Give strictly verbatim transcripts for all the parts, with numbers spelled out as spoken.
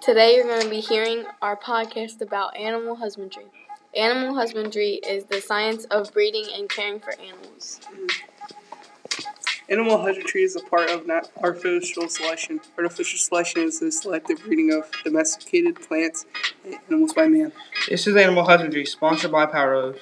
Today you're going to be hearing our podcast about animal husbandry. Animal husbandry is the science of breeding and caring for animals. Animal husbandry is a part of not artificial selection. Artificial selection is the selective breeding of domesticated plants and animals by man. This is Animal Husbandry, sponsored by Power Rose.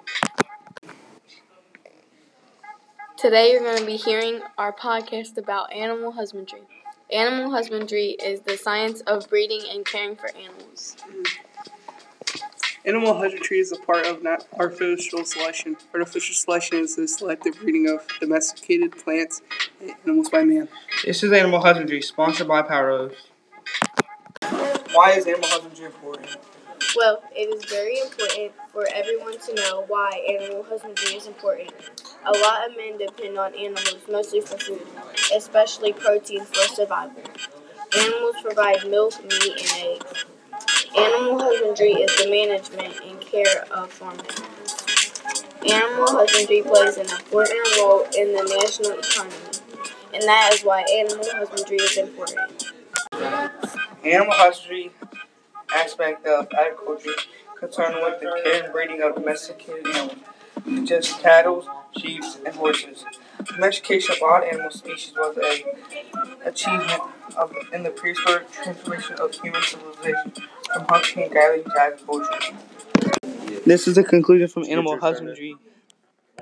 Today you're going to be hearing our podcast about animal husbandry. Animal husbandry is the science of breeding and caring for animals. Animal husbandry is a part of not artificial selection. Artificial selection is the selective breeding of domesticated plants and animals by man. This is Animal Husbandry, sponsored by Power Rose. Why is animal husbandry important? Well, it is very important for everyone to know why animal husbandry is important. A lot of men depend on animals mostly for food, especially protein for survival. Animals provide milk, meat, and eggs. Animal husbandry is the management and care of farm animals. Animal husbandry plays an important role in the national economy, and that is why animal husbandry is important. Animal husbandry aspect of agriculture concerned with the care and breeding of domesticated animals, such as cattle, sheep, and horses. Domestication of wild animal species was a achievement of, in the prehistoric transformation of human civilization from hunting and gathering to agriculture. This is the conclusion from Animal Husbandry.